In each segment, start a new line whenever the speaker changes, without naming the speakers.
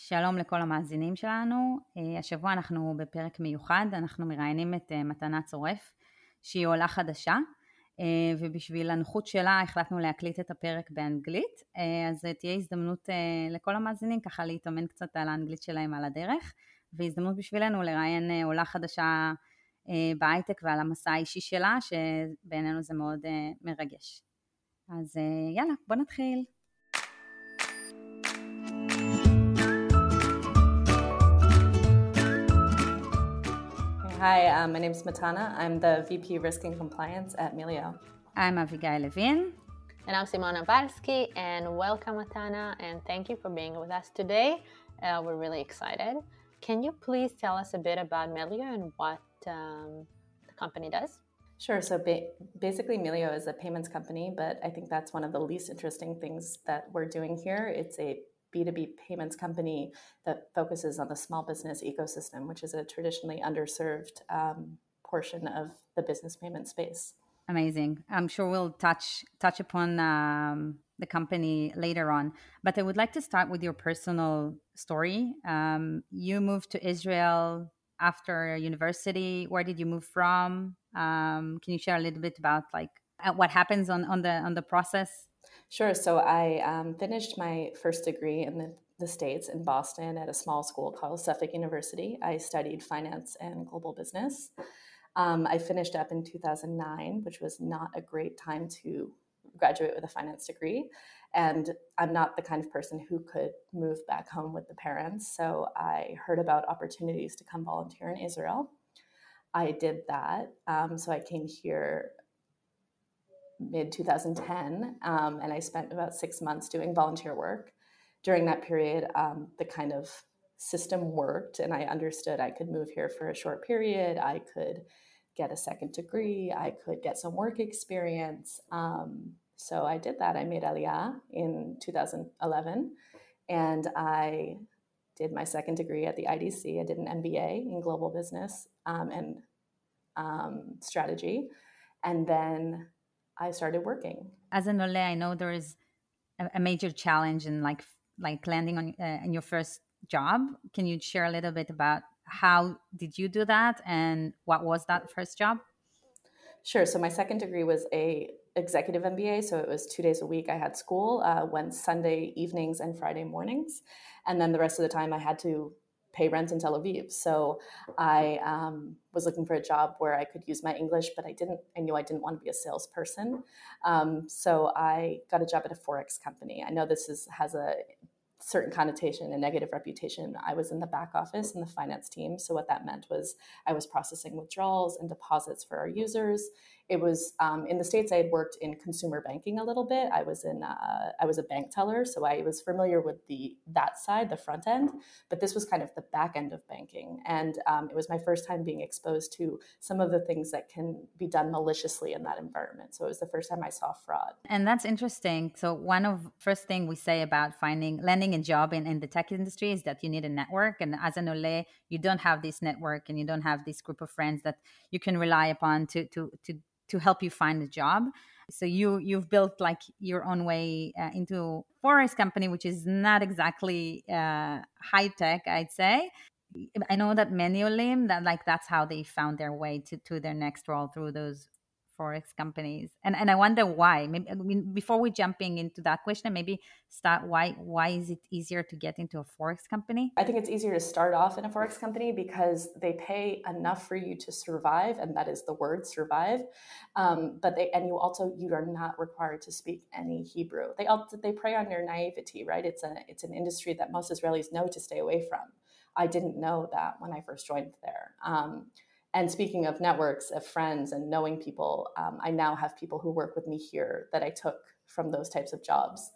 שלום לכל המאזינים שלנו. השבוע אנחנו בפרק מיוחד, אנחנו מראיינים את מתנה צורף, שהיא עולה חדשה, ובשביל הנוחות שלה החלטנו להקליט את הפרק באנגלית, אז תהיה הזדמנות לכל המאזינים ככה להתאמן קצת על האנגלית שלהם על הדרך, והזדמנות בשבילנו לראיין עולה חדשה בהייטק ועל המסע האישי שלה, שבעינינו זה מאוד מרגש. אז יאללה, בוא נתחיל.
Hi, my name is Matana. I'm the VP Risk and Compliance at Melio.
I'm Avigail Levin.
And I'm Simona Balski, and welcome, Matana, and thank you for being with us today. We're really excited. Can you please tell us a bit about Melio and what the company does?
Sure. So basically, Melio is a payments company, but I think that's one of the least interesting things that we're doing here. It's a B2B payments company that focuses on the small business ecosystem, which is a traditionally underserved portion of the business payment space.
Amazing. I'm sure we'll touch upon the company later on, but I would like to start with your personal story. You moved to Israel after university. Where did you move from? Can you share a little bit about what happens on the process?
Sure. So I finished my first degree in the States in Boston at a small school called Suffolk University. I studied finance and global business. I finished up in 2009, which was not a great time to graduate with a finance degree. And I'm not the kind of person who could move back home with the parents. So I heard about opportunities to come volunteer in Israel. I did that. So I came here mid-2010, and I spent about 6 months doing volunteer work. During that period, the kind of system worked, and I understood I could move here for a short period. I could get a second degree. I could get some work experience. So I did that. I made Aliyah in 2011, and I did my second degree at the IDC. I did an MBA in global business and strategy, and then I started working.
As an Ole, I know there is a major challenge in like landing on in your first job. Can you share a little bit about how did you do that and what was that first job?
Sure. So my second degree was a executive MBA. So it was 2 days a week. I had school, went Sunday evenings and Friday mornings. And then the rest of the time I had to pay rent in Tel Aviv. So I was looking for a job where I could use my English, but I knew I didn't want to be a salesperson. So I got a job at a Forex company. I know this has a certain connotation, a negative reputation. I was in the back office in the finance team. So what that meant was I was processing withdrawals and deposits for our users. It was in the States, I had worked in consumer banking a little bit. I was a bank teller, so I was familiar with that side, the front end, but this was kind of the back end of banking. And it was my first time being exposed to some of the things that can be done maliciously in that environment. So it was the first time I saw fraud.
And that's interesting. So one of first thing we say about landing a job in the tech industry is that you need a network. And as an Ole, you don't have this network and you don't have this group of friends that you can rely upon to help you find a job. So you've built like your own way into Forex company, which is not exactly high tech, I'd say. I know that many Olim that's how they found their way to their next role through those Forex companies. And I wonder why. Maybe, before we jumping into that question, maybe start why is it easier to get into a Forex company?
I think it's easier to start off in a Forex company because they pay enough for you to survive, and that is the word survive. But you are not required to speak any Hebrew. They prey on your naivety, right? It's an industry that most Israelis know to stay away from. I didn't know that when I first joined there. And speaking of networks, of friends and knowing people, I now have people who work with me here that I took from those types of jobs.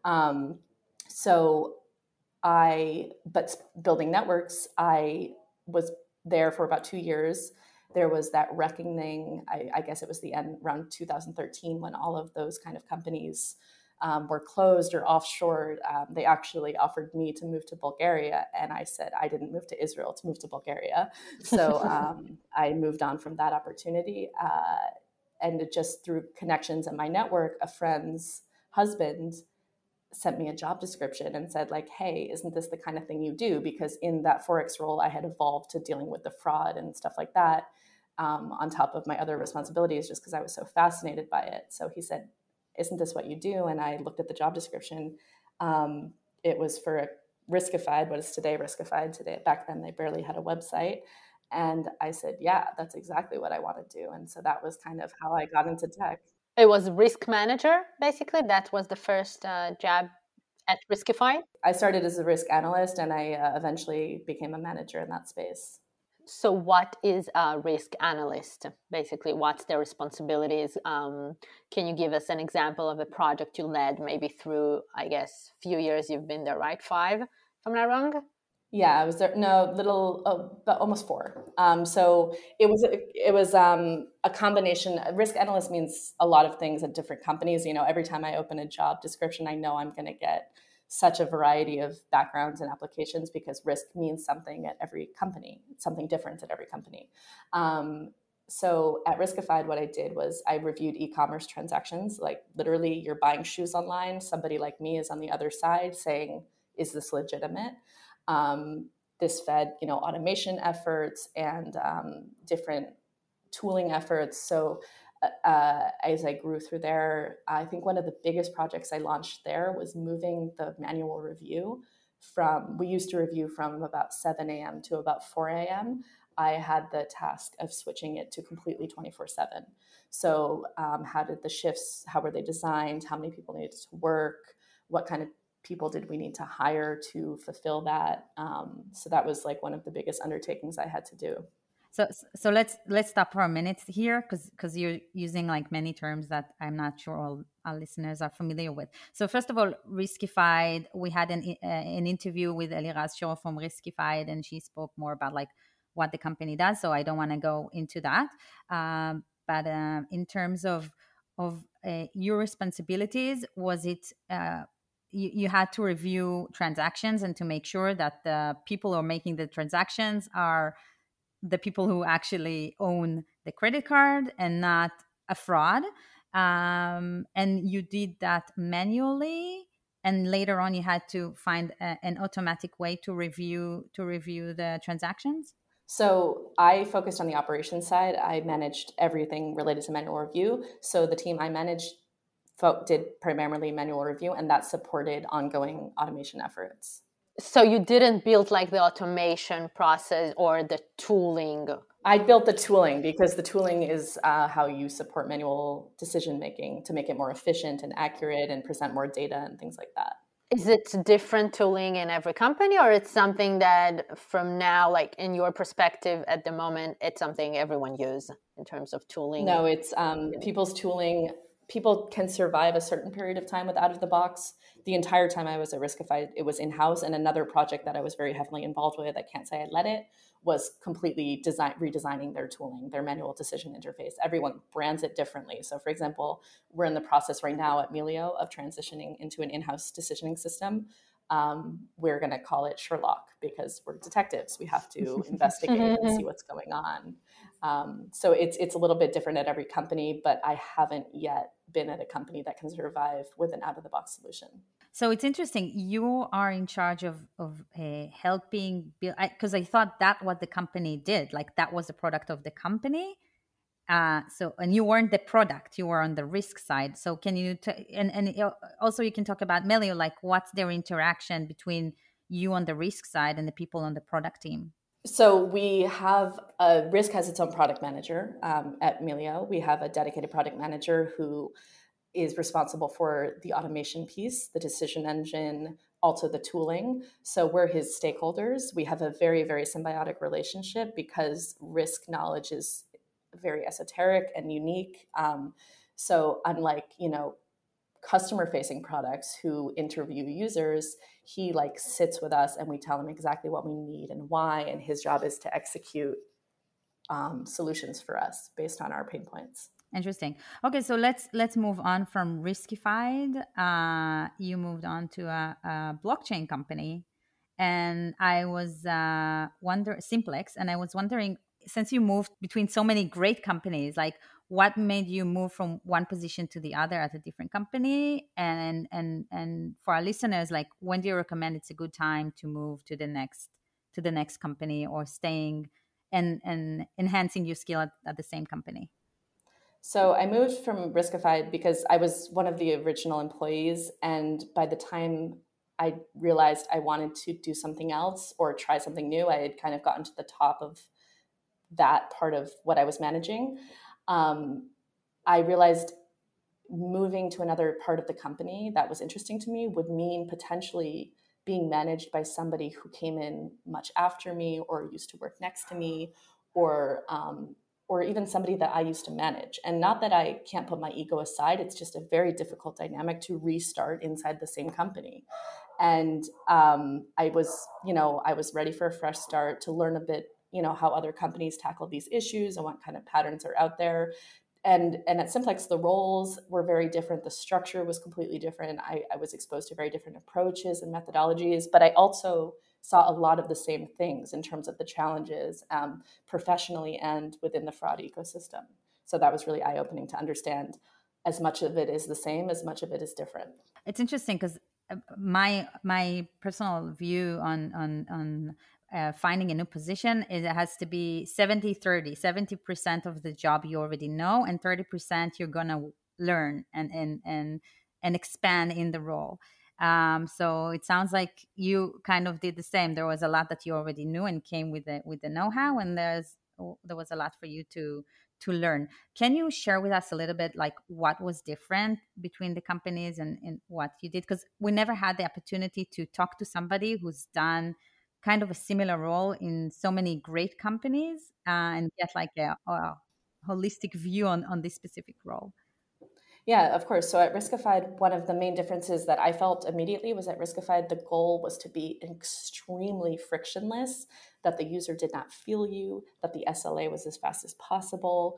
But building networks, I was there for about 2 years. There was that reckoning, I guess it was the end around 2013 when all of those kind of companies were closed or offshored. They actually offered me to move to Bulgaria, and I said I didn't move to Israel to move to Bulgaria. So I moved on from that opportunity, and just through connections and my network, a friend's husband sent me a job description and said like, hey, isn't this the kind of thing you do? Because in that Forex role, I had evolved to dealing with the fraud and stuff like that, on top of my other responsibilities, just because I was so fascinated by it. So he said, isn't this what you do? And I looked at the job description. It was for Riskified, what is today Riskified. Today, back then they barely had a website. And I said, yeah, that's exactly what I want to do. And so that was kind of how I got into tech.
It was risk manager, basically. That was the first job at Riskified.
I started as a risk analyst, and I eventually became a manager in that space.
So what is a risk analyst? Basically, what's their responsibilities? Can you give us an example of a project you led, maybe through, I guess, few years you've been there, right? 5, if I'm not wrong?
Yeah, I was there. No, but almost 4. So it was a combination. Risk analyst means a lot of things at different companies. You know, every time I open a job description, I know I'm going to get such a variety of backgrounds and applications, because risk means something at every company. It's something different at every company. So at Riskified, what I did was I reviewed e-commerce transactions. Like literally, you're buying shoes online. Somebody like me is on the other side saying, "Is this legitimate?" This fed, automation efforts and different tooling efforts. So as I grew through there, I think one of the biggest projects I launched there was moving the manual review we used to review from about 7 a.m. to about 4 a.m. I had the task of switching it to completely 24/7. So how were they designed? How many people needed to work? What kind of people did we need to hire to fulfill that? So that was like one of the biggest undertakings I had to do.
So let's stop for a minute here, because you're using like many terms that I'm not sure all our listeners are familiar with. So first of all, Riskified, we had an interview with Eliraz Shor from Riskified, and she spoke more about like what the company does. So I don't want to go into that. But in terms of your responsibilities, was it you had to review transactions and to make sure that the people who are making the transactions are the people who actually own the credit card and not a fraud. And you did that manually, and later on you had to find an automatic way to review the transactions.
So I focused on the operations side. I managed everything related to manual review. So the team I managed did primarily manual review, and that supported ongoing automation efforts.
So you didn't build like the automation process or the tooling?
I built the tooling, because the tooling is how you support manual decision making to make it more efficient and accurate and present more data and things like that.
Is it different tooling in every company, or it's something that from now, like in your perspective at the moment, it's something everyone uses in terms of tooling?
No, it's people's tooling. People can survive a certain period of time with out of the box. The entire time I was at Riskified, it was in-house. And another project that I was very heavily involved with, I can't say I led it, was completely redesigning their tooling, their manual decision interface. Everyone brands it differently. So for example, we're in the process right now at Melio of transitioning into an in-house decisioning system. We're going to call it Sherlock, because we're detectives. We have to investigate and see what's going on. So it's a little bit different at every company, but I haven't yet been at a company that can survive with an out-of-the-box solution.
So it's interesting. You are in charge of helping build, because I thought that what the company did, like that was a product of the company. And you weren't the product; you were on the risk side. So can you and also you can talk about Melio, like what's their interaction between you on the risk side and the people on the product team?
So we have risk has its own product manager at Melio. We have a dedicated product manager who is responsible for the automation piece, the decision engine, also the tooling. So we're his stakeholders. We have a very, very symbiotic relationship, because risk knowledge is very esoteric and unique. So unlike, customer-facing products who interview users, he like sits with us and we tell him exactly what we need and why, and his job is to execute solutions for us based on our pain points.
Interesting. Okay, so let's move on from Riskified. You moved on to a blockchain company, and I was Simplex, and I was wondering, since you moved between so many great companies, like what made you move from one position to the other at a different company? And for our listeners, like when do you recommend it's a good time to move to the next company, or staying and enhancing your skill at the same company?
So I moved from Riskified because I was one of the original employees. And by the time I realized I wanted to do something else or try something new, I had kind of gotten to the top of that part of what I was managing. I realized moving to another part of the company that was interesting to me would mean potentially being managed by somebody who came in much after me or used to work next to me, or even somebody that I used to manage. And not that I can't put my ego aside, it's just a very difficult dynamic to restart inside the same company. And I was ready for a fresh start, to learn a bit, how other companies tackle these issues and what kind of patterns are out there. And at Simplex, the roles were very different. The structure was completely different. I was exposed to very different approaches and methodologies, but I also saw a lot of the same things in terms of the challenges, professionally and within the fraud ecosystem. So that was really eye-opening to understand as much of it is the same, as much of it is different.
It's interesting because my personal view on finding a new position is it has to be 70-30. 70% of the job you already know, and 30% you're gonna learn and expand in the role. So it sounds like you kind of did the same. There was a lot that you already knew and came with the know-how, and there was a lot for you to learn. Can you share with us a little bit like what was different between the companies and what you did? Because we never had the opportunity to talk to somebody who's done kind of a similar role in so many great companies, and get like a holistic view on this specific role.
Yeah, of course. So at Riskified, one of the main differences that I felt immediately was at Riskified, the goal was to be extremely frictionless, that the user did not feel you, that the SLA was as fast as possible,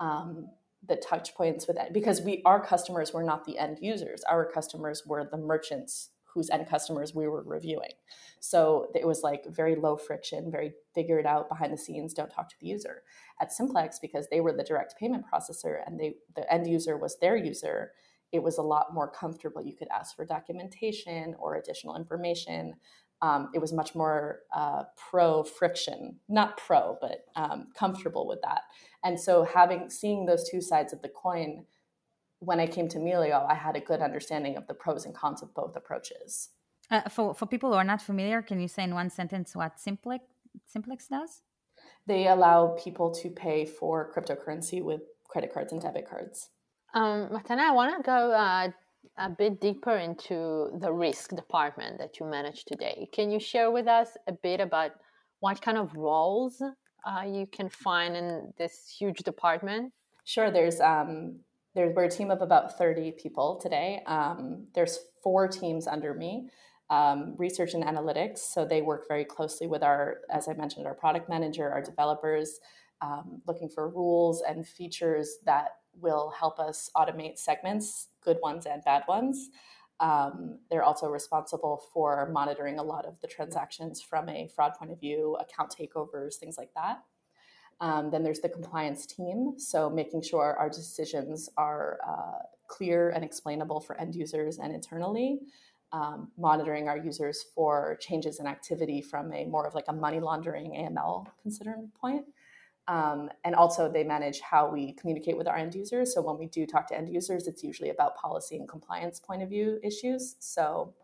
the touch points with that, because our customers were not the end users. Our customers were the merchants whose end customers we were reviewing. So it was like very low friction, very figure it out behind the scenes, don't talk to the user. At Simplex, because they were the direct payment processor and the end user was their user, it was a lot more comfortable. You could ask for documentation or additional information. It was much more pro friction, not pro, but comfortable with that. And so seeing those two sides of the coin, when I came to Melio, I had a good understanding of the pros and cons of both approaches.
For people who are not familiar, can you say in one sentence what Simplex does?
They allow people to pay for cryptocurrency with credit cards and debit cards.
Matana, I want to go a bit deeper into the risk department that you manage today. Can you share with us a bit about what kind of roles you can find in this huge department?
Sure. We're a team of about 30 people today. There's 4 teams under me. Research and analytics. So they work very closely with as I mentioned, our product manager, our developers, looking for rules and features that will help us automate segments, good ones and bad ones. They're also responsible for monitoring a lot of the transactions from a fraud point of view, account takeovers, things like that. Then there's the compliance team. So making sure our decisions are clear and explainable for end users and internally. Monitoring our users for changes in activity from a more of like a money laundering AML considering point. And also they manage how we communicate with our end users. So when we do talk to end users, it's usually about policy and compliance point of view issues. So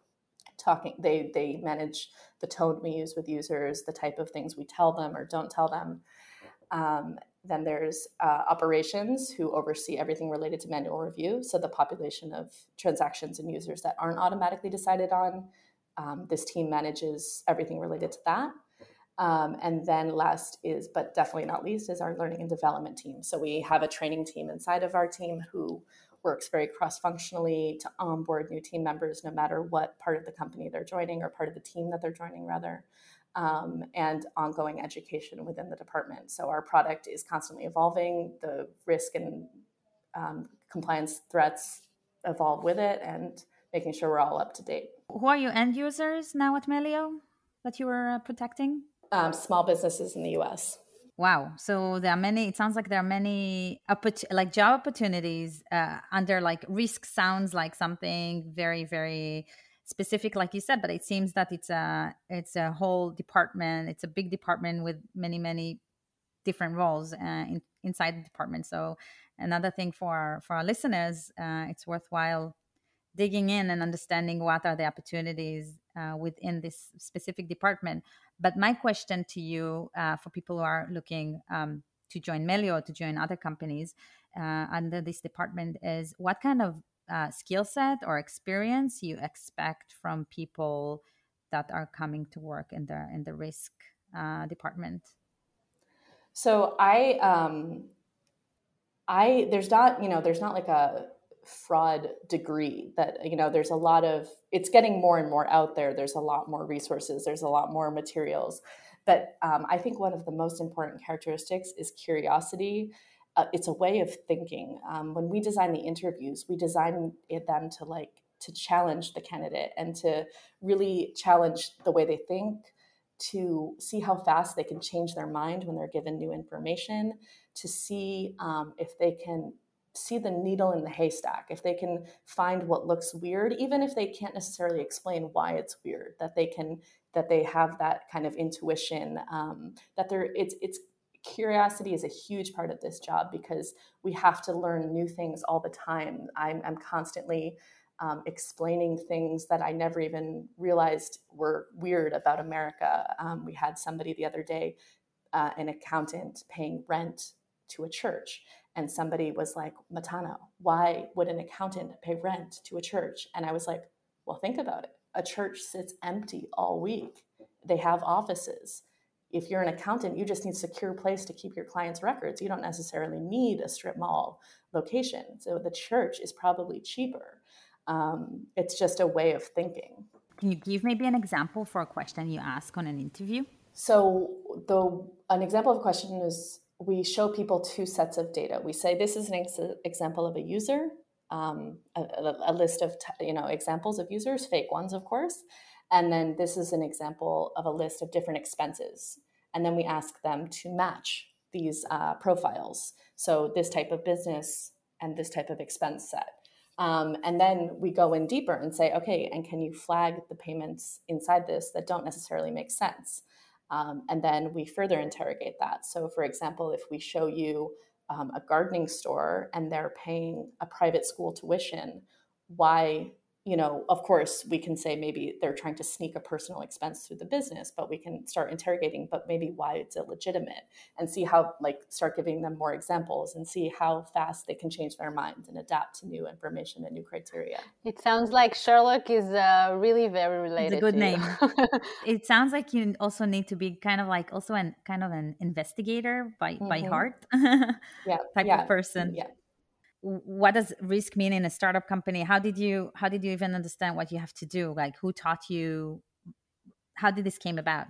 they manage the tone we use with users, the type of things we tell them or don't tell them. Then there's operations, who oversee everything related to manual review. So the population of transactions and users that aren't automatically decided on. This team manages everything related to that. And then last is, but definitely not least, is our learning and development team. So we have a training team inside of our team who works very cross-functionally to onboard new team members, no matter what part of the company they're joining or part of the team that they're joining, rather. And ongoing education within the department. So our product is constantly evolving. The risk and compliance threats evolve with it, and making sure we're all up to date.
Who are your end users now at Melio that you were protecting?
Small businesses in the US.
Wow. So there are many, it sounds like there are many like job opportunities under like risk sounds like something very, very specific, like you said, but it seems that it's a whole department. It's a big department with many, many different roles inside the department. So another thing for our listeners, it's worthwhile digging in and understanding what are the opportunities within this specific department. But my question to you, for people who are looking to join Melio or to join other companies under this department, is what kind of skill set or experience you expect from people that are coming to work in the risk department?
So there's not like a fraud degree that, there's a lot of, it's getting more and more out there. There's a lot more resources. There's a lot more materials. But I think one of the most important characteristics is curiosity. It's a way of thinking. When we design the interviews, we design them to challenge the candidate and to really challenge the way they think, to see how fast they can change their mind when they're given new information, to see if they can see the needle in the haystack, if they can find what looks weird, even if they can't necessarily explain why it's weird, that they have that kind of intuition, it's curiosity is a huge part of this job because we have to learn new things all the time. I'm constantly explaining things that I never even realized were weird about America. We had somebody the other day, an accountant, paying rent to a church. And somebody was like, Matana, why would an accountant pay rent to a church? And I was like, well, think about it. A church sits empty all week. They have offices. If you're an accountant, you just need a secure place to keep your clients' records. You don't necessarily need a strip mall location. So the church is probably cheaper. It's just a way of thinking.
Can you give maybe an example for a question you ask on an interview?
So an example of a question is, we show people two sets of data. We say, this is an example of a user, a list of examples of users, fake ones, of course. And then this is an example of a list of different expenses. And then we ask them to match these profiles. So this type of business and this type of expense set. And then we go in deeper and say, okay, and can you flag the payments inside this that don't necessarily make sense? And then we further interrogate that. So for example, if we show you a gardening store and they're paying a private school tuition, why, of course, we can say maybe they're trying to sneak a personal expense through the business, but we can start interrogating, but maybe why it's illegitimate, and see how, start giving them more examples and see how fast they can change their minds and adapt to new information and new criteria.
It sounds like Sherlock is really very related.
It's a good
to
name.
You.
It sounds like you also need to be kind of like also an investigator by heart type of person.
Yeah.
What does risk mean in a startup company? How did you even understand what you have to do? Like, who taught you? How did this came about?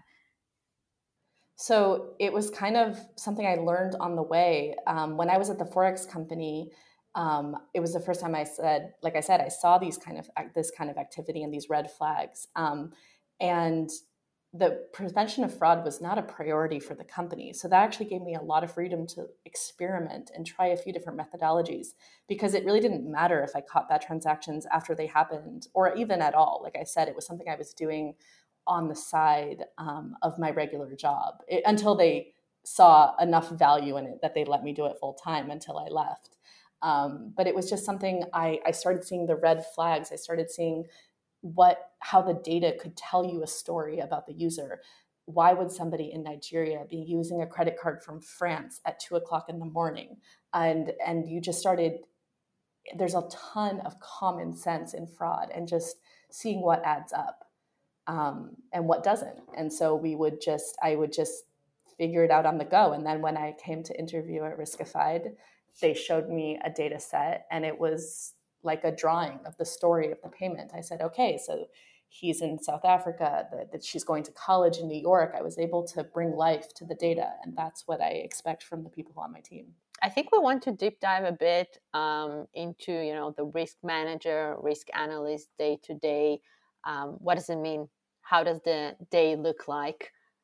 So it was kind of something I learned on the way. When I was at the Forex company, it was the first time I saw this kind of activity and these red flags. And the prevention of fraud was not a priority for the company. So that actually gave me a lot of freedom to experiment and try a few different methodologies, because it really didn't matter if I caught bad transactions after they happened or even at all. Like I said, it was something I was doing on the side of my regular job until they saw enough value in it that they let me do it full time until I left. But it was just something I started seeing the red flags. I started seeing how the data could tell you a story about the user. Why would somebody in Nigeria be using a credit card from France at 2:00 in the morning? And you just started, there's a ton of common sense in fraud and just seeing what adds up and what doesn't. And so I would just figure it out on the go. And then when I came to interview at Riskified, they showed me a data set and it was like a drawing of the story of the payment. I said, okay, so he's in South Africa, that she's going to college in New York. I was able to bring life to the data, and that's what I expect from the people on my team.
I think we want to deep dive a bit into, the risk manager, risk analyst day to day. What does it mean? How does the day look like?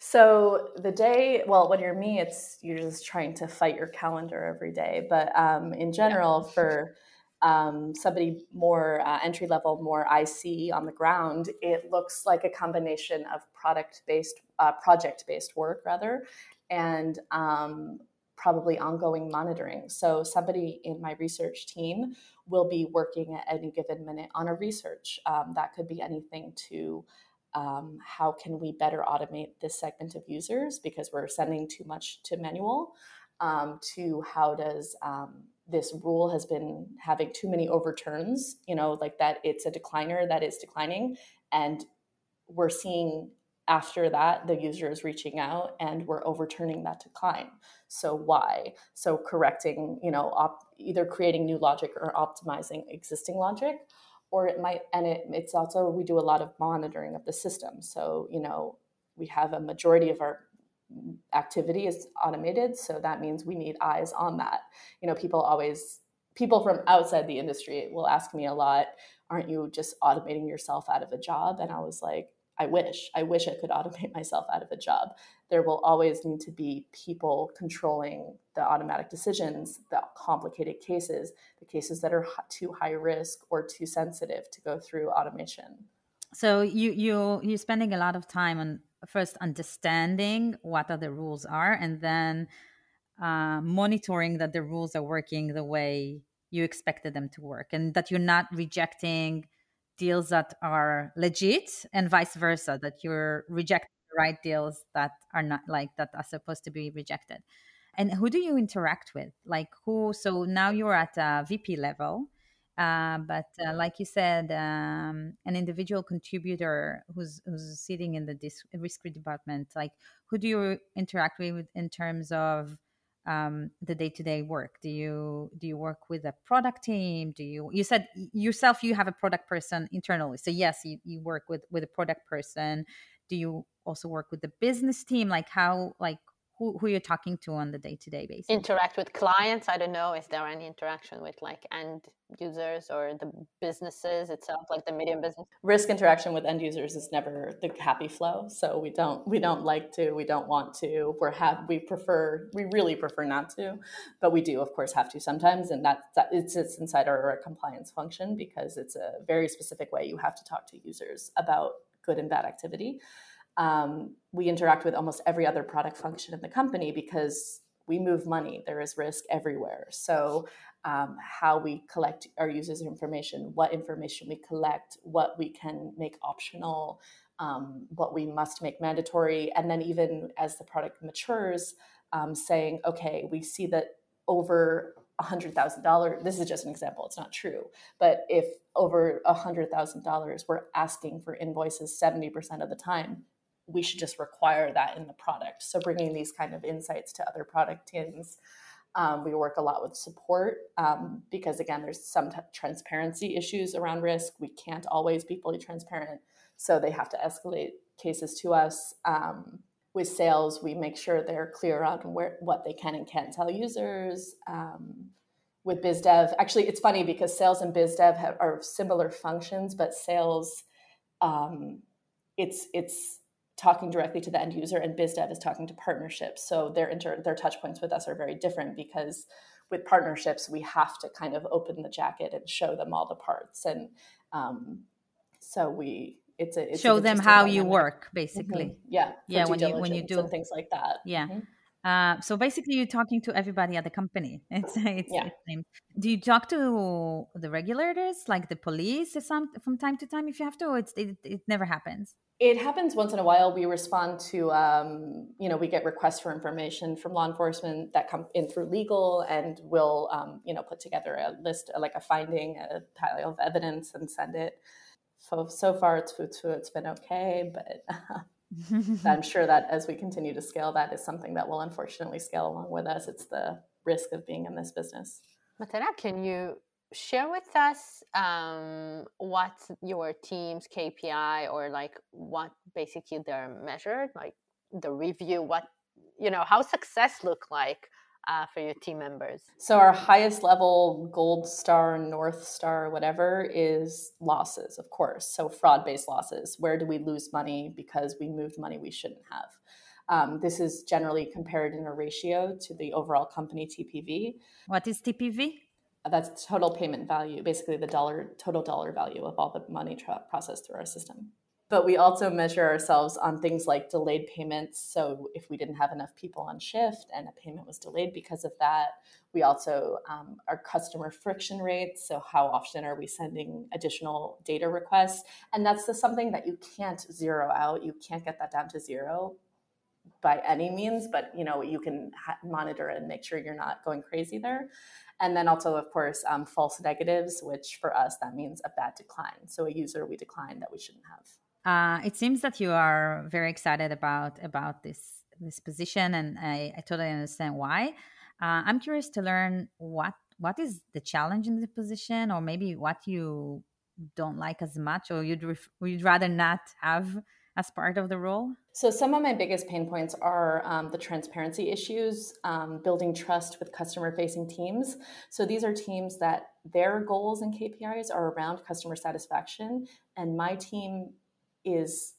So the day, well, when you're me, you're just trying to fight your calendar every day. But in general, for somebody more entry level, more IC on the ground, it looks like a combination of project based work rather, and probably ongoing monitoring. So somebody in my research team will be working at any given minute on a research. That could be anything to how can we better automate this segment of users because we're sending too much to manual, to how does this rule has been having too many overturns, like that it's a decliner that is declining, and we're seeing after that the user is reaching out and we're overturning that decline. So why? So correcting, either creating new logic or optimizing existing logic, or it might, and it's also, we do a lot of monitoring of the system. So, we have a majority of our activity is automated. So that means we need eyes on that. People from outside the industry will ask me a lot, aren't you just automating yourself out of a job? And I was like, I wish I could automate myself out of a job. There will always need to be people controlling the automatic decisions, the complicated cases, the cases that are too high risk or too sensitive to go through automation.
So you're spending a lot of time on first understanding what are the rules are, and then monitoring that the rules are working the way you expected them to work, and that you're not rejecting deals that are legit, and vice versa, that you're rejecting the right deals that are not, like, that are supposed to be rejected. And who do you interact with? Like who? So now you're at a VP level. But like you said, an individual contributor who's sitting in the risk department, like who do you interact with in terms of the day-to-day work? Do you work with a product team? You said yourself you have a product person internally, so yes, you work with a product person. Do you also work with the business team? Like how, like who you're talking to on the day-to-day basis?
Interact with clients. I don't know, is there any interaction with like end users or the businesses itself, like the medium business?
Risk interaction with end users is never the happy flow. So we don't like to, we don't want to, we really prefer not to, but we do of course have to sometimes. And it's inside our compliance function because it's a very specific way you have to talk to users about good and bad activity. We interact with almost every other product function in the company because we move money. There is risk everywhere. So how we collect our users' information, what information we collect, what we can make optional, what we must make mandatory. And then even as the product matures, saying, okay, we see that over $100,000, this is just an example, it's not true, but if over $100,000 we're asking for invoices 70% of the time, we should just require that in the product. So bringing these kind of insights to other product teams. We work a lot with support because, again, there's some transparency issues around risk. We can't always be fully transparent, so they have to escalate cases to us. With sales, we make sure they're clear on what they can and can't tell users. With biz dev, actually, it's funny because sales and biz dev are similar functions, but sales, it's talking directly to the end user, and biz dev is talking to partnerships. So their touch points with us are very different because with partnerships, we have to kind of open the jacket and show them all the parts. And so it's
show them how you work, basically.
Mm-hmm. Yeah.
When you do
and things like that.
Yeah.
Mm-hmm.
So basically you're talking to everybody at the company. It's do you talk to the regulators, like the police from time to time if you have to, or it never happens?
It happens once in a while. We respond to, we get requests for information from law enforcement that come in through legal, and we'll, put together a list, like a finding, a pile of evidence, and send it. So far, it's been okay, but I'm sure that as we continue to scale, that is something that will unfortunately scale along with us. It's the risk of being in this business.
Matana, can you share with us what's your team's KPI, or like what basically they're measured, like the review, how success look like for your team members?
So our highest level, gold star, North Star, whatever, is losses, of course. So fraud-based losses. Where do we lose money because we moved money we shouldn't have? This is generally compared in a ratio to the overall company TPV.
What is TPV?
That's total payment value, basically the total dollar value of all the money processed through our system. But we also measure ourselves on things like delayed payments. So if we didn't have enough people on shift and a payment was delayed because of that, we also our customer friction rates. So how often are we sending additional data requests? And that's something that you can't zero out. You can't get that down to zero by any means, but you can monitor and make sure you're not going crazy there. And then also, of course, false negatives, which for us, that means a bad decline. So a user we declined that we shouldn't have.
It seems that you are very excited about this position, and I totally understand why. I'm curious to learn what is the challenge in the position, or maybe what you don't like as much, or you'd rather not have as part of the role.
So some of my biggest pain points are the transparency issues, building trust with customer-facing teams. So these are teams that their goals and KPIs are around customer satisfaction, and my team is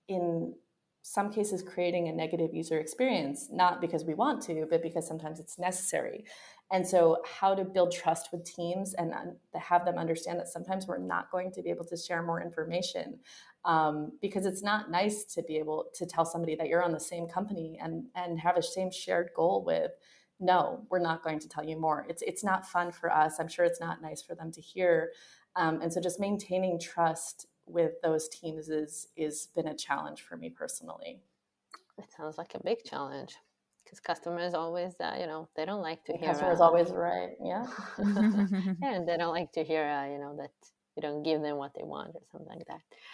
in some cases creating a negative user experience, not because we want to, but because sometimes it's necessary. And so how to build trust with teams and have them understand that sometimes we're not going to be able to share more information, because it's not nice to be able to tell somebody that you're on the same company and have a same shared goal with, no, we're not going to tell you more. It's not fun for us. I'm sure it's not nice for them to hear. And so just maintaining trust with those teams is been a challenge for me personally.
It sounds like a big challenge because customers always, they don't like to hear.
Customers always right, yeah.
Yeah, and they don't like to hear, that you don't give them what they want or something like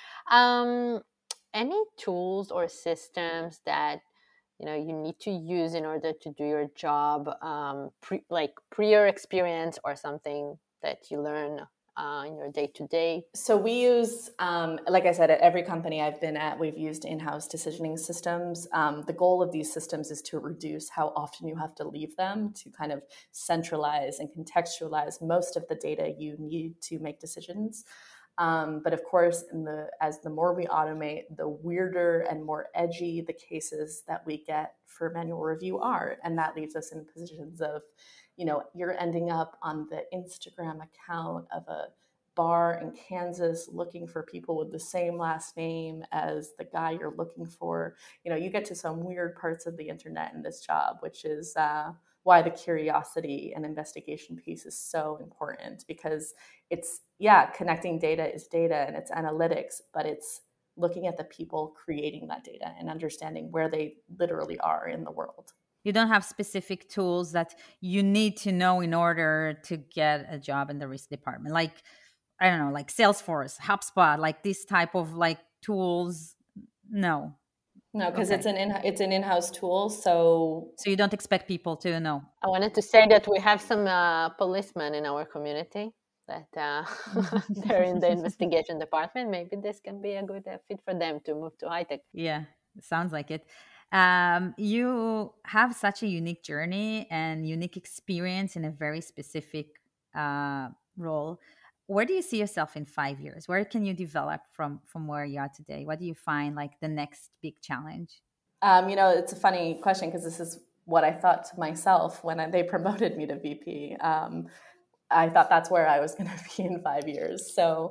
that. Any tools or systems that you need to use in order to do your job, prior experience or something that you learn in your day-to-day?
So we use, like I said, at every company I've been at, we've used in-house decisioning systems. The goal of these systems is to reduce how often you have to leave them, to kind of centralize and contextualize most of the data you need to make decisions. But of course, as the more we automate, the weirder and more edgy the cases that we get for manual review are. And that leaves us in positions of, you're ending up on the Instagram account of a bar in Kansas looking for people with the same last name as the guy you're looking for. You get to some weird parts of the internet in this job, which is why the curiosity and investigation piece is so important, because connecting data is data and it's analytics, but it's looking at the people creating that data and understanding where they literally are in the world.
You don't have specific tools that you need to know in order to get a job in the risk department, like, I don't know, like Salesforce, HubSpot, like this type of tools. No,
because it's an in-house tool, so
you don't expect people to know.
I wanted to say that we have some policemen in our community that they're in the investigation department. Maybe this can be a good fit for them to move to high tech.
Yeah, sounds like it. You have such a unique journey and unique experience in a very specific role. Where do you see yourself in 5 years? Where can you develop from where you are today? What do you find like the next big challenge?
It's a funny question because this is what I thought to myself when they promoted me to VP. I thought that's where I was going to be in 5 years. So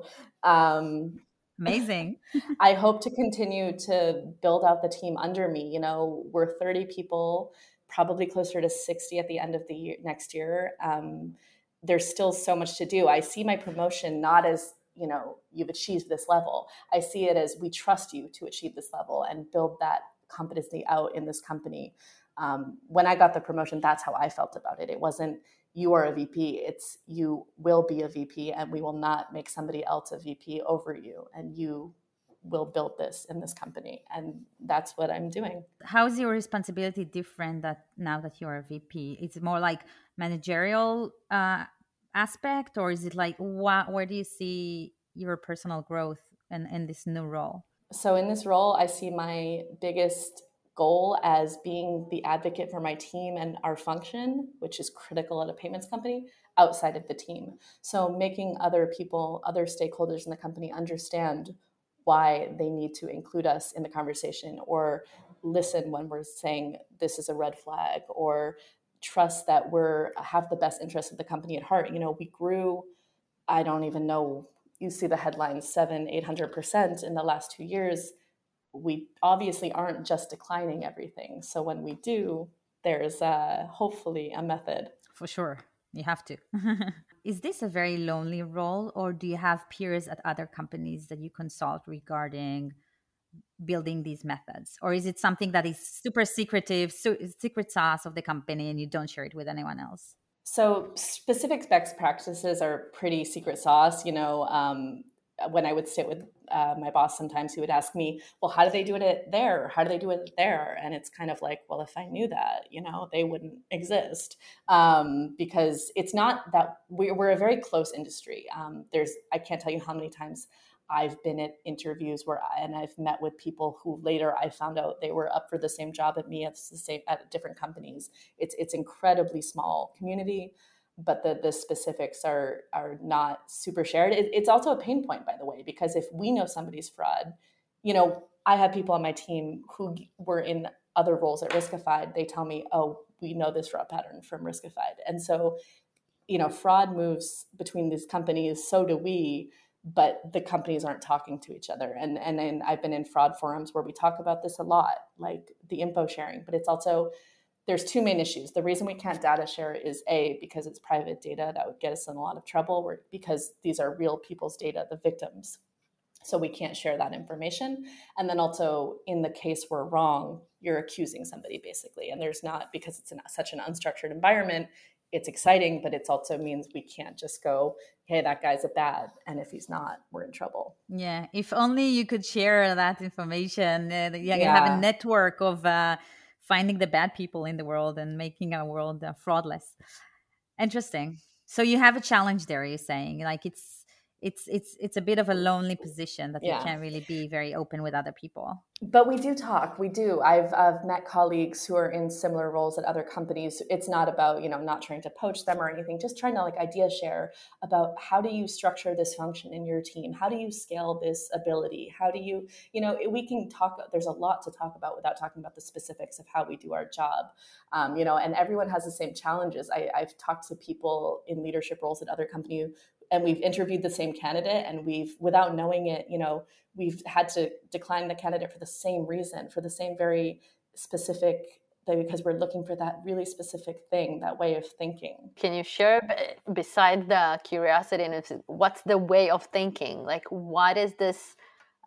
amazing.
I hope to continue to build out the team under me. We're 30 people, probably closer to 60 at the end of the year, next year. There's still so much to do. I see my promotion not as, you've achieved this level. I see it as we trust you to achieve this level and build that competency out in this company. When I got the promotion, that's how I felt about it. It wasn't, you are a VP. It's, you will be a VP and we will not make somebody else a VP over you. And you will build this in this company. And that's what I'm doing.
How is your responsibility different now that you're a VP? Is it more like managerial aspect, or is it like, where do you see your personal growth in this new role?
So in this role, I see my biggest goal as being the advocate for my team and our function, which is critical at a payments company, outside of the team. So making other people, other stakeholders in the company understand why they need to include us in the conversation, or listen when we're saying this is a red flag, or trust that we're have the best interests of the company at heart. We grew, I don't even know, you see the headlines, 700-800% in the last 2 years. We obviously aren't just declining everything. So when we do, there's hopefully a method.
For sure. You have to. Is this a very lonely role, or do you have peers at other companies that you consult regarding building these methods? Or is it something that is super secretive, secret sauce of the company, and you don't share it with anyone else?
So specific best practices are pretty secret sauce. When I would sit with my boss, sometimes he would ask me, well, how do they do it there? How do they do it there? And it's kind of like, well, if I knew that, they wouldn't exist, because it's not that we're a very close industry. I can't tell you how many times I've been at interviews and I've met with people who later I found out they were up for the same job at me at different companies. It's incredibly small community, but the specifics are not super shared. It's also a pain point, by the way, because if we know somebody's fraud, I have people on my team who were in other roles at Riskified. They tell me, oh, we know this fraud pattern from Riskified. And so, fraud moves between these companies, so do we, but the companies aren't talking to each other. And then I've been in fraud forums where we talk about this a lot, like the info sharing, but it's also, there's two main issues. The reason we can't data share is because it's private data that would get us in a lot of trouble, because these are real people's data, the victims. So we can't share that information. And then also, in the case we're wrong, you're accusing somebody basically. And there's not, because it's such an unstructured environment, it's exciting, but it also means we can't just go, hey, that guy's a bad, and if he's not, we're in trouble.
Yeah, if only you could share that information. You have a network of finding the bad people in the world and making our world fraudless. Interesting. So you have a challenge there, you're saying, like it's a bit of a lonely position that you can't really be very open with other people.
But we do talk. We do. I've met colleagues who are in similar roles at other companies. It's not about, not trying to poach them or anything, just trying to idea share about how do you structure this function in your team? How do you scale this ability? How do you, we can talk, there's a lot to talk about without talking about the specifics of how we do our job. And everyone has the same challenges. I've talked to people in leadership roles at other companies, and we've interviewed the same candidate, and without knowing it, we've had to decline the candidate for the same reason, for the same very specific thing, because we're looking for that really specific thing, that way of thinking.
Can you share, beside the curiosity, and what's the way of thinking? Like, what is this,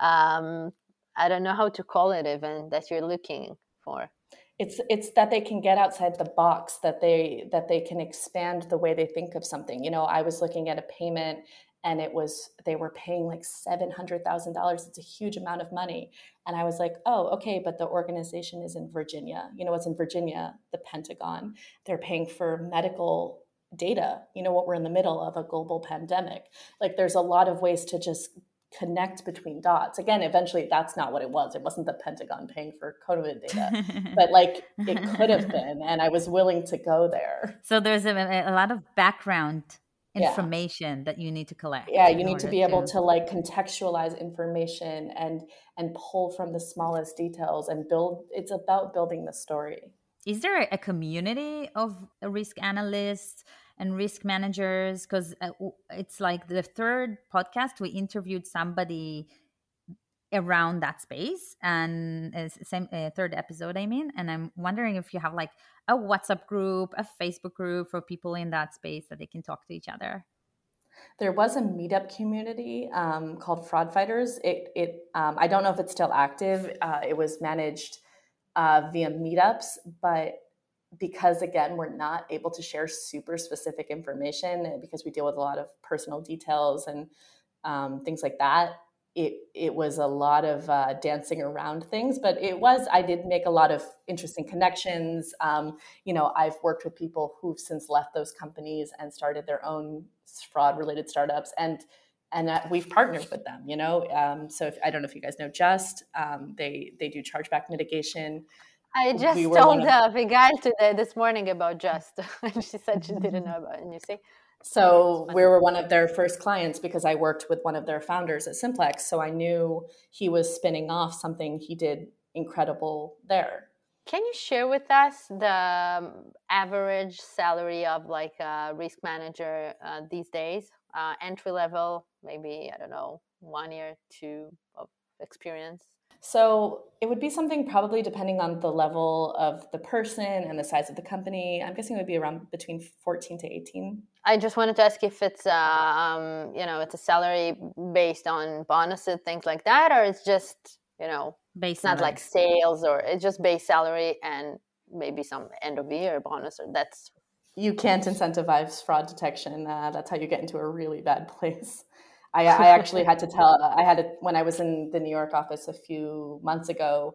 I don't know how to call it even, that you're looking for?
It's that they can get outside the box, that they can expand the way they think of something. I was looking at a payment, and they were paying like $700,000. It's a huge amount of money. And I was like, oh, okay, but the organization is in Virginia. What's in Virginia? The Pentagon. They're paying for medical data. What we're in the middle of, a global pandemic. Like, there's a lot of ways to just connect between dots. Again, eventually that's not what it was. It wasn't the Pentagon paying for COVID data, but it could have been, and I was willing to go there.
So there's a lot of background information that you need to collect.
Yeah, you need to be able to contextualize information and pull from the smallest details and build. It's about building the story.
Is there a community of risk analysts and risk managers? Because it's like the third podcast, we interviewed somebody around that space, and third episode, I mean, and I'm wondering if you have a WhatsApp group, a Facebook group for people in that space that they can talk to each other.
There was a meetup community called Fraud Fighters. I don't know if it's still active. It was managed via meetups, but because, again, we're not able to share super specific information because we deal with a lot of personal details and things like that, it was a lot of dancing around things. But I did make a lot of interesting connections. I've worked with people who've since left those companies and started their own fraud-related startups, and we've partnered with them. So I don't know if you guys know Just. They do chargeback mitigation.
I just
we were
told Abigail this morning about Just, and she said she didn't know about it. And you see,
So we were one of their first clients because I worked with one of their founders at Simplex. So I knew he was spinning off something he did incredible there.
Can you share with us the average salary of like a risk manager these days? Entry level, maybe, I don't know, 1 year, 2 of experience?
So it would be something probably depending on the level of the person and the size of the company. I'm guessing it would be around between 14 to 18.
I just wanted to ask if it's, it's a salary based on bonuses, things like that, or it's just,
base
it's not
salary.
like sales, or it's just base salary and maybe some end of year bonus, or that's...
You can't incentivize fraud detection. That's how you get into a really bad place. I actually had to when I was in the New York office a few months ago,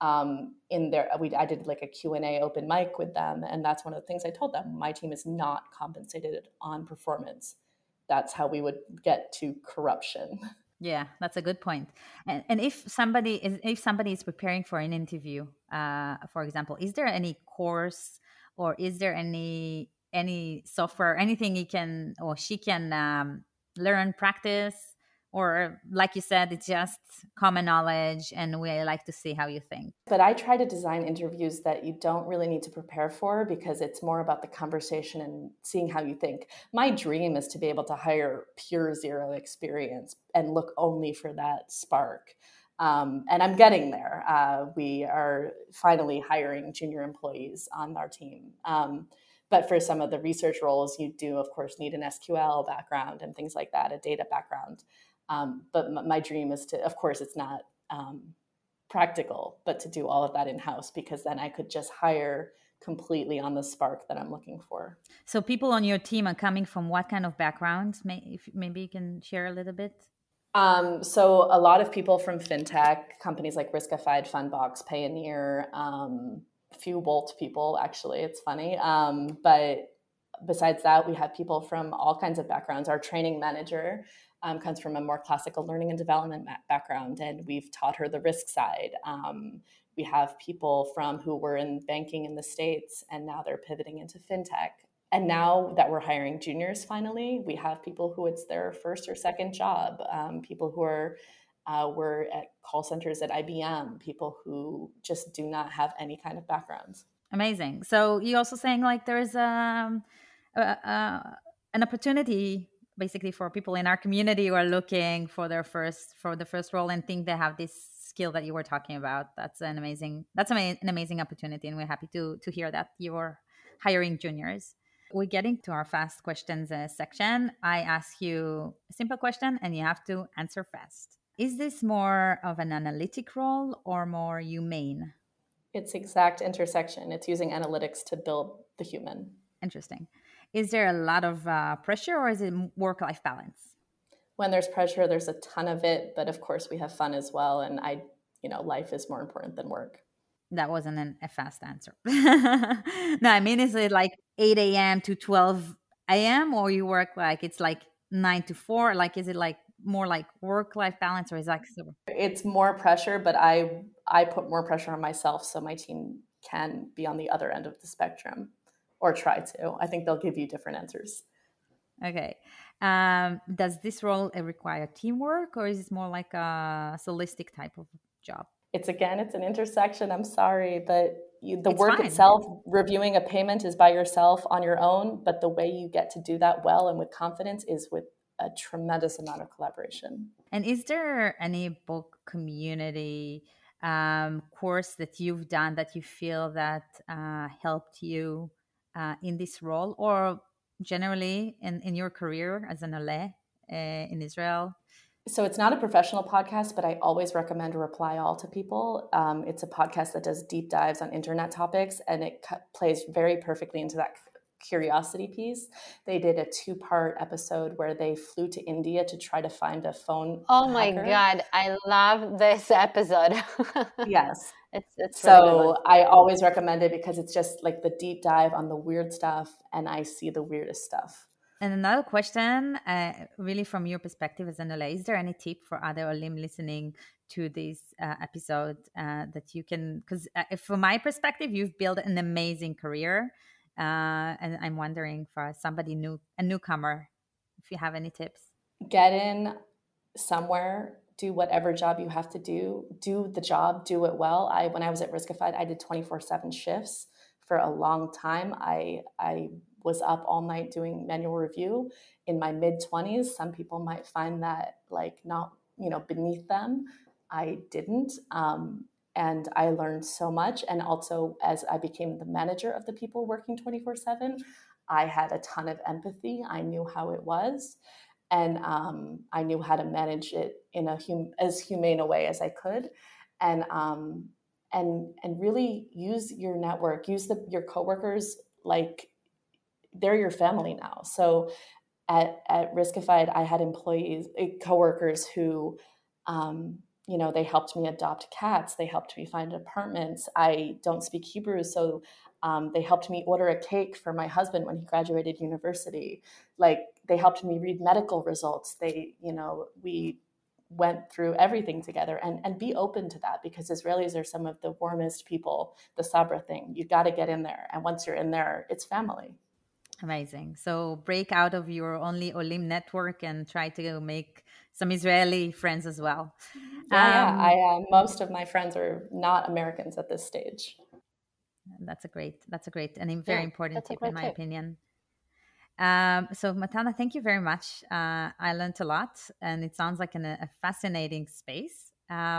I did like a Q&A open mic with them. And that's one of the things I told them. My team is not compensated on performance. That's how we would get to corruption.
Yeah, that's a good point. And if somebody is preparing for an interview, for example, is there any course or is there any software, anything he can or she can learn, practice, or like you said, it's just common knowledge and we like to see how you think?
But I try to design interviews that you don't really need to prepare for because it's more about the conversation and seeing how you think. My dream is to be able to hire pure zero experience and look only for that spark. And I'm getting there. We are finally hiring junior employees on our team. But for some of the research roles, you do, of course, need an SQL background and things like that, a data background. But my dream is to, of course, it's not practical, but to do all of that in-house, because then I could just hire completely on the spark that I'm looking for.
So people on your team are coming from what kind of backgrounds? Maybe you can share a little bit.
So a lot of people from fintech companies like Riskified, Fundbox, Payoneer, a few Wolt people, actually, it's funny. But besides that, we have people from all kinds of backgrounds. Our training manager comes from a more classical learning and development background, and we've taught her the risk side. We have people who were in banking in the States, and now they're pivoting into fintech. And now that we're hiring juniors, finally, we have people who it's their first or second job, people who were at call centers at IBM, people who just do not have any kind of backgrounds.
Amazing. So you're also saying like there is an opportunity basically for people in our community who are looking for the first role and think they have this skill that you were talking about. That's an amazing opportunity, and we're happy to hear that you're hiring juniors. We're getting to our fast questions section. I ask you a simple question and you have to answer fast. Is this more of an analytic role or more humane?
It's exact intersection. It's using analytics to build the human.
Interesting. Is there a lot of pressure or is it work-life balance?
When there's pressure, there's a ton of it. But of course, we have fun as well. And life is more important than work.
That wasn't a fast answer. No, I mean, is it like 8 a.m. to 12 a.m. or you work like it's like 9 to 4? Like, is it like more like work-life balance or is that super?
It's more pressure, but I put more pressure on myself so my team can be on the other end of the spectrum, or try to. I think they'll give you different answers.
Okay. Does this role require teamwork or is it more like a holistic type of job?
It's an intersection. I'm sorry, but the work
fine.
itself, reviewing a payment is by yourself on your own, but the way you get to do that well and with confidence is with a tremendous amount of collaboration.
And is there any book community course that you've done that you feel that helped you in this role or generally in your career as an Olé in Israel?
So it's not a professional podcast, but I always recommend Reply All to people. It's a podcast that does deep dives on internet topics, and it plays very perfectly into that curiosity piece. They did a 2-part episode where they flew to India to try to find a phone.
Oh my God, I love this episode.
Yes.
It's
so
really
I always recommend it because it's just like the deep dive on the weird stuff, and I see the weirdest stuff.
And another question, really from your perspective as an Olé, is there any tip for other Olim listening to this episode that you can, because from my perspective, you've built an amazing career. And I'm wondering for somebody new, a newcomer, if you have any tips.
Get in somewhere, do whatever job you have to do the job, do it well. When I was at Riskified, I did 24/7 shifts for a long time. I was up all night doing manual review in my mid-20s. Some people might find that like not, beneath them. I didn't. And I learned so much. And also, as I became the manager of the people working 24/7, I had a ton of empathy. I knew how it was. And I knew how to manage it in as humane a way as I could. And really use your network, use your coworkers like they're your family now. So at Riskified, I had coworkers who, they helped me adopt cats. They helped me find apartments. I don't speak Hebrew, so they helped me order a cake for my husband when he graduated university. Like, they helped me read medical results. We went through everything together, and be open to that, because Israelis are some of the warmest people. The Sabra thing, you got to get in there. And once you're in there, it's family.
Amazing. So break out of your only Olim network and try to make some Israeli friends as well.
Yeah. Most of my friends are not Americans at this stage.
That's a great and a very important tip, in my opinion. So Matana, thank you very much. I learned a lot, and it sounds like a fascinating space.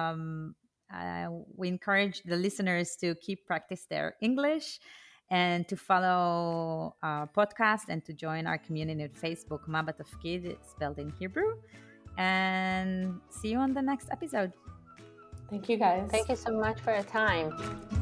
We encourage the listeners to keep practice their English, and to follow our podcast, and to join our community at Facebook, Ma Batafkid, spelled in Hebrew. And see you on the next episode.
Thank you, guys.
Thank you so much for your time.